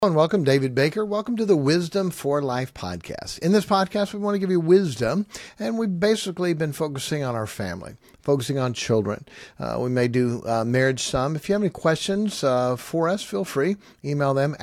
And welcome, David Baker. Welcome to the Wisdom for Life podcast. In this podcast, we want to give you wisdom, and we've basically been focusing on our family, focusing on children. We may do marriage some. If you have any questions for us, feel free. Email them,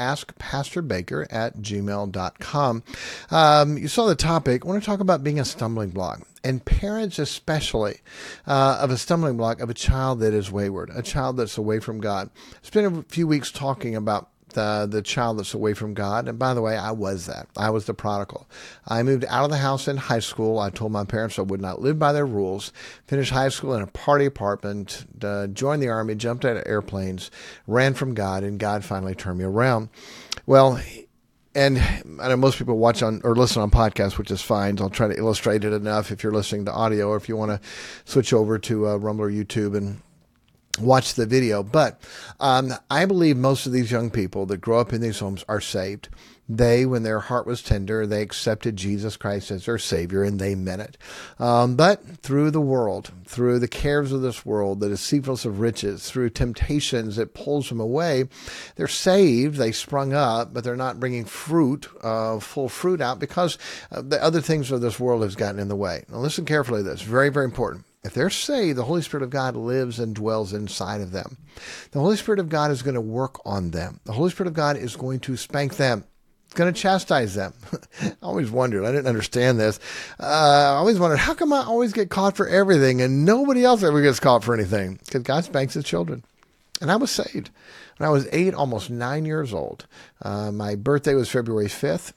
askpastorbaker@gmail.com. You saw the topic. I want to talk about being a stumbling block, and parents especially of a stumbling block of a child that is wayward, a child that's away from God. Spent a few weeks talking about the child that's away from God. And by the way, I was that. I was the prodigal. I moved out of the house in high school. I told my parents I would not live by their rules. Finished high school in a party apartment, joined the Army, jumped out of airplanes, ran from God, and God finally turned me around. Well, and I know most people watch on or listen on podcasts, which is fine. So I'll try to illustrate it enough if you're listening to audio, or if you want to switch over to Rumble or YouTube and watch the video. But I believe most of these young people that grow up in these homes are saved. They, when their heart was tender, they accepted Jesus Christ as their Savior, and they meant it. But through the world, through the cares of this world, the deceitfulness of riches, through temptations that pulls them away, they're saved, they sprung up, but they're not bringing fruit, full fruit out, because the other things of this world has gotten in the way. Now listen carefully to this. Very, very important. If they're saved, the Holy Spirit of God lives and dwells inside of them. The Holy Spirit of God is going to work on them. The Holy Spirit of God is going to spank them. It's going to chastise them. I always wondered, I didn't understand this. I always wondered, how come I always get caught for everything and nobody else ever gets caught for anything? Because God spanks his children. And I was saved when I was 8, almost 9 years old. My birthday was February 5th.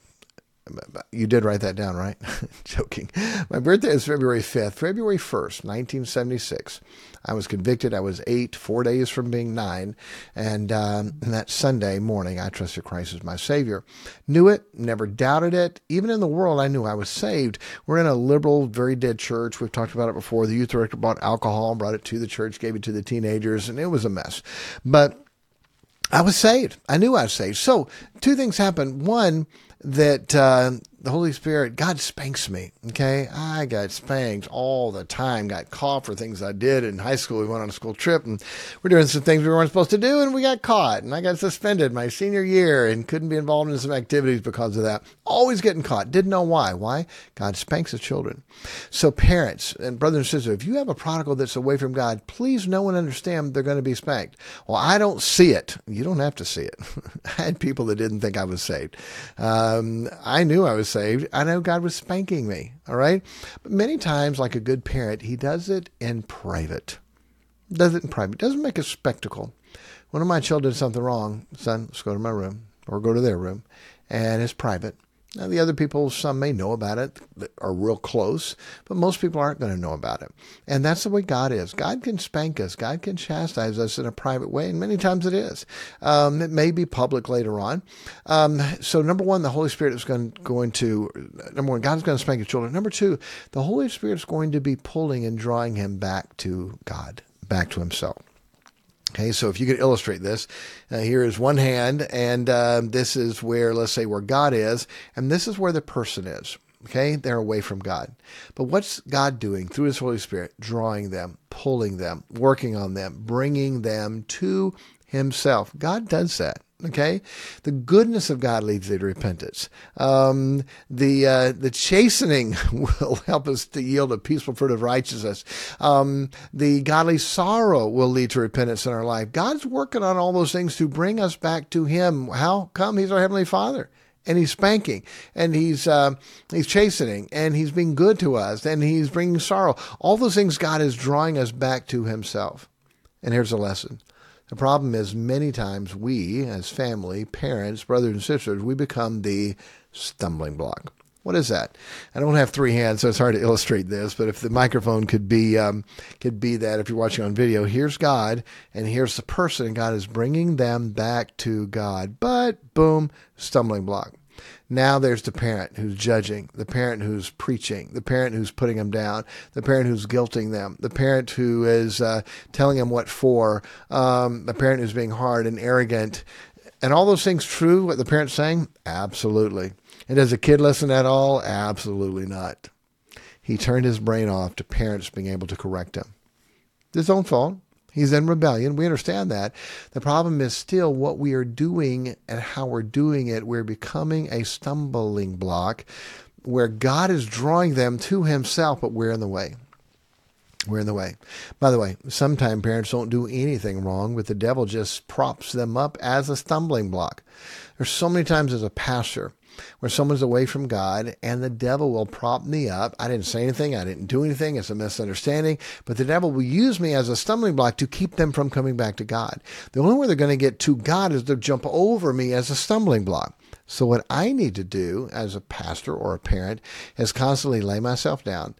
You did write that down, right? Joking. My birthday is February 5th. February 1st, 1976. I was convicted. I was 8, 4 days from being 9. And that Sunday morning, I trusted Christ as my Savior. Knew it, never doubted it. Even in the world, I knew I was saved. We're in a liberal, very dead church. We've talked about it before. The youth director bought alcohol, brought it to the church, gave it to the teenagers, and it was a mess. But I was saved. I knew I was saved. So 2 things happened. One, that the Holy Spirit, God spanks me, okay? I got spanked all the time, got caught for things I did in high school. We went on a school trip, and we're doing some things we weren't supposed to do, and we got caught, and I got suspended my senior year and couldn't be involved in some activities because of that. Always getting caught. Didn't know why. Why? God spanks his children. So parents and brothers and sisters, if you have a prodigal that's away from God, please know and understand they're going to be spanked. Well, I don't see it. You don't have to see it. I had people that didn't think I was saved. I knew I was saved. I know God was spanking me. All right. But many times, like a good parent, he does it in private. Doesn't make a spectacle. One of my children did something wrong. Son, let's go to my room or go to their room. And it's private. Now, the other people, some may know about it, that are real close, but most people aren't going to know about it. And that's the way God is. God can spank us. God can chastise us in a private way, and many times it is. It may be public later on. So number one, the Holy Spirit is number one, God is going to spank his children. Number 2, the Holy Spirit is going to be pulling and drawing him back to God, back to himself. Okay, so if you could illustrate this, here is one hand, and this is where, let's say, where God is, and this is where the person is. Okay, they're away from God. But what's God doing through his Holy Spirit? Drawing them, pulling them, working on them, bringing them to himself. God does that. Okay, the goodness of God leads to repentance. The chastening will help us to yield a peaceful fruit of righteousness. The godly sorrow will lead to repentance in our life. God's working on all those things to bring us back to him. How come? He's our Heavenly Father. And he's spanking, and he's chastening, and he's being good to us, and he's bringing sorrow. All those things, God is drawing us back to himself. And here's a lesson. The problem is many times we, as family, parents, brothers and sisters, we become the stumbling block. What is that? I don't have 3 hands, so it's hard to illustrate this, but if the microphone could be that, if you're watching on video, here's God, and here's the person, and God is bringing them back to God. But, boom, stumbling block. Now there's the parent who's judging, the parent who's preaching, the parent who's putting them down, the parent who's guilting them, the parent who is telling them what for, the parent who's being hard and arrogant. And all those things true, what the parent's saying? Absolutely. And does a kid listen at all? Absolutely not. He turned his brain off to parents being able to correct him. His own fault. He's in rebellion. We understand that. The problem is still what we are doing and how we're doing it. We're becoming a stumbling block where God is drawing them to himself, but we're in the way. We're in the way. By the way, sometimes parents don't do anything wrong, but the devil just props them up as a stumbling block. There's so many times as a pastor where someone's away from God and the devil will prop me up. I didn't say anything. I didn't do anything. It's a misunderstanding. But the devil will use me as a stumbling block to keep them from coming back to God. The only way they're going to get to God is to jump over me as a stumbling block. So what I need to do as a pastor or a parent is constantly lay myself down,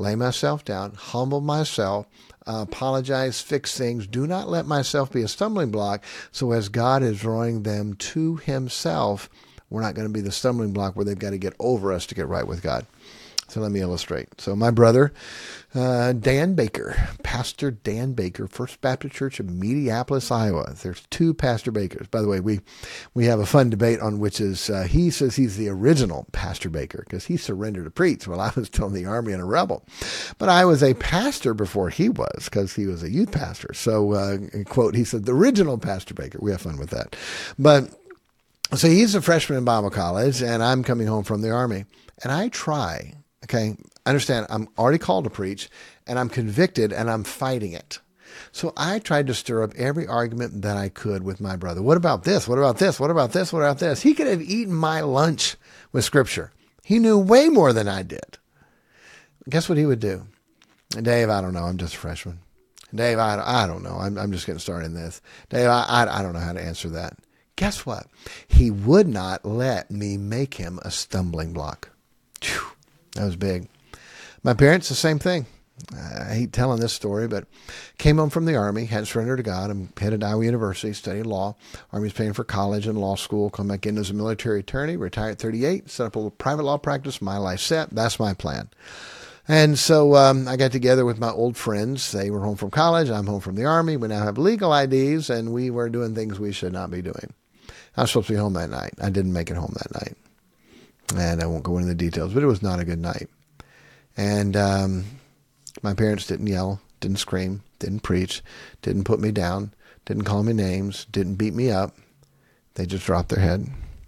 humble myself, apologize, fix things. Do not let myself be a stumbling block. So as God is drawing them to himself, we're not going to be the stumbling block where they've got to get over us to get right with God. So let me illustrate. So my brother, Dan Baker, Pastor Dan Baker, First Baptist Church of Mediapolis, Iowa. There's two Pastor Bakers. By the way, we have a fun debate on which is, he says he's the original Pastor Baker because he surrendered to preach while I was still in the Army and a rebel. But I was a pastor before he was because he was a youth pastor. So, quote, he said, the original Pastor Baker. We have fun with that. But so he's a freshman in Bible college, and I'm coming home from the Army. And I try, okay, understand, I'm already called to preach, and I'm convicted, and I'm fighting it. So I tried to stir up every argument that I could with my brother. What about this? What about this? What about this? What about this? He could have eaten my lunch with Scripture. He knew way more than I did. Guess what he would do? Dave, I don't know. I'm just a freshman. Dave, I don't know. I'm just getting started in this. Dave, I don't know how to answer that. Guess what? He would not let me make him a stumbling block. Whew, that was big. My parents, the same thing. I hate telling this story, but came home from the Army, hadn't surrendered to God. I'm headed to Iowa University, studying law. Army's paying for college and law school. Come back in as a military attorney, retire at 38, set up a little private law practice. My life set. That's my plan. And so I got together with my old friends. They were home from college. I'm home from the Army. We now have legal IDs, and we were doing things we should not be doing. I was supposed to be home that night. I didn't make it home that night. And I won't go into the details, but it was not a good night. And my parents didn't yell, didn't scream, didn't preach, didn't put me down, didn't call me names, didn't beat me up. They just dropped their head.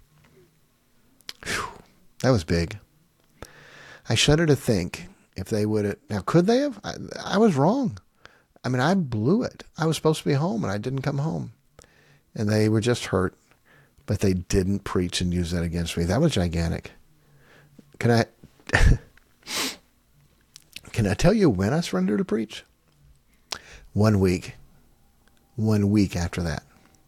Whew, that was big. I shudder to think if they would have. Now, could they have? I was wrong. I mean, I blew it. I was supposed to be home, and I didn't come home. And they were just hurt. But they didn't preach and use that against me. That was gigantic. Can I tell you when I surrendered to preach? 1 week. 1 week after that.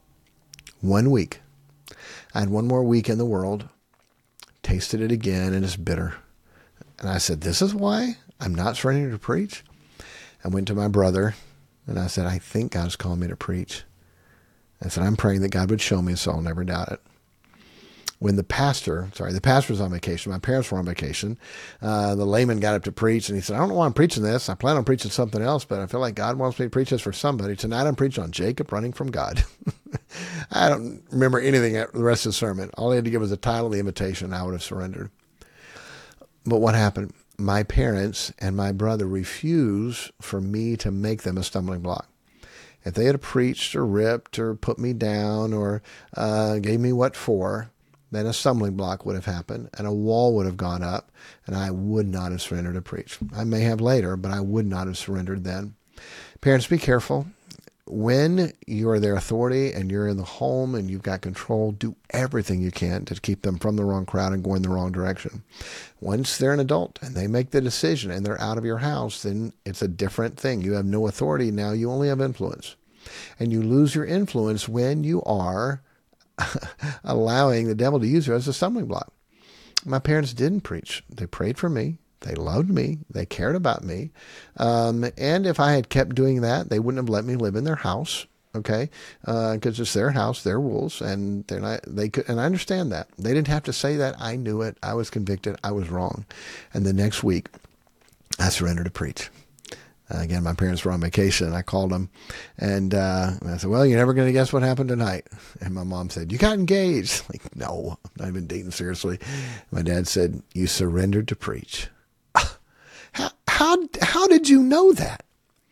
1 week. I had one more week in the world. Tasted it again, and it's bitter. And I said, this is why I'm not surrendering to preach? I went to my brother, and I said, I think God's calling me to preach. I said, I'm praying that God would show me so I'll never doubt it. When the pastor was on vacation. My parents were on vacation. The layman got up to preach, and he said, I don't know why I'm preaching this. I plan on preaching something else, but I feel like God wants me to preach this for somebody. Tonight I'm preaching on Jacob running from God. I don't remember anything the rest of the sermon. All he had to give was the title, the invitation, and I would have surrendered. But what happened? My parents and my brother refused for me to make them a stumbling block. If they had preached or ripped or put me down or gave me what for, then a stumbling block would have happened and a wall would have gone up, and I would not have surrendered to preach. I may have later, but I would not have surrendered then. Parents, be careful. When you are their authority and you're in the home and you've got control, do everything you can to keep them from the wrong crowd and going the wrong direction. Once they're an adult and they make the decision and they're out of your house, then it's a different thing. You have no authority now. You only have influence. And you lose your influence when you are allowing the devil to use you as a stumbling block. My parents didn't preach. They prayed for me. They loved me. They cared about me. And if I had kept doing that, they wouldn't have let me live in their house. Okay. Cause it's their house, their rules, and they could, and I understand that. They didn't have to say that. I knew it. I was convicted. I was wrong. And the next week I surrendered to preach. Again, my parents were on vacation. I called them and I said, well, you're never going to guess what happened tonight. And my mom said, you got engaged. Like, no, I'm not even dating seriously. My dad said, you surrendered to preach. How did you know that?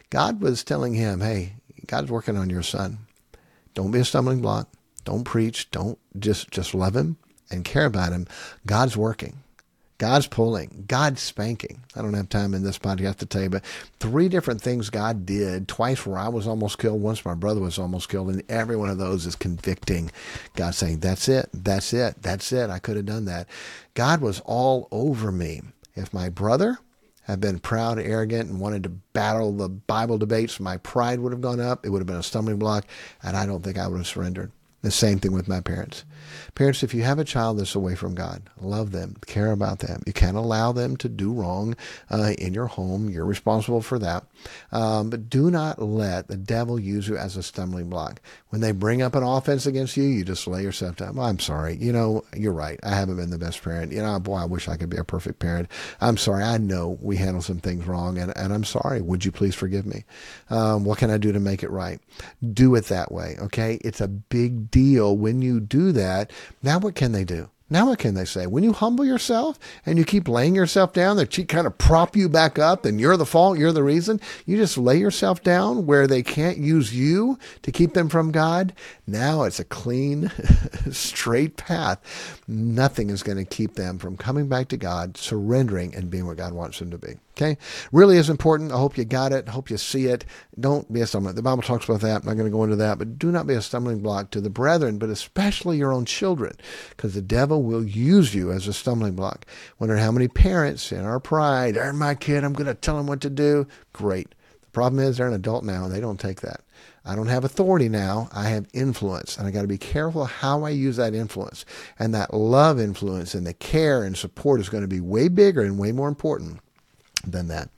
God was telling him, hey, God's working on your son. Don't be a stumbling block. Don't preach. Don't just love him and care about him. God's working. God's pulling. God's spanking. I don't have time in this podcast to tell you, but 3 different things God did, twice where I was almost killed, once my brother was almost killed, and every one of those is convicting. God saying, that's it, that's it, that's it. I could have done that. God was all over me. If my brother had been proud, arrogant, and wanted to battle the Bible debates, my pride would have gone up. It would have been a stumbling block, and I don't think I would have surrendered. The same thing with my parents. Parents, if you have a child that's away from God, love them, care about them. You can't allow them to do wrong in your home. You're responsible for that. But do not let the devil use you as a stumbling block. When they bring up an offense against you, you just lay yourself down. Well, I'm sorry. You're right. I haven't been the best parent. Boy, I wish I could be a perfect parent. I'm sorry. I know we handle some things wrong, and I'm sorry. Would you please forgive me? What can I do to make it right? Do it that way, okay? It's a big deal when you do that. Now what can they do? Now what can they say? When you humble yourself and you keep laying yourself down, they kind of prop you back up and you're the fault, you're the reason. You just lay yourself down where they can't use you to keep them from God. Now it's a clean, straight path. Nothing is going to keep them from coming back to God, surrendering, and being what God wants them to be. Okay? Really is important. I hope you got it. I hope you see it. Don't be a stumbling. The Bible talks about that. I'm not going to go into that, but do not be a stumbling block to the brethren, but especially your own children, because the devil will use you as a stumbling block. Wonder how many parents in our pride, they're my kid, I'm going to tell them what to do. Great. The problem is they're an adult now and they don't take that. I don't have authority now. I have influence, and I got to be careful how I use that influence. And that love influence and the care and support is going to be way bigger and way more important than that.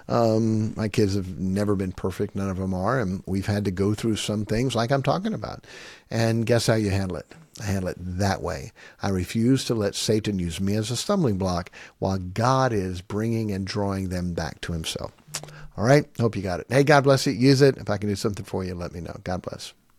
My kids have never been perfect. None of them are. And we've had to go through some things like I'm talking about. And guess how you handle it? I handle it that way. I refuse to let Satan use me as a stumbling block while God is bringing and drawing them back to himself. All right. Hope you got it. Hey, God bless you. Use it. If I can do something for you, let me know. God bless.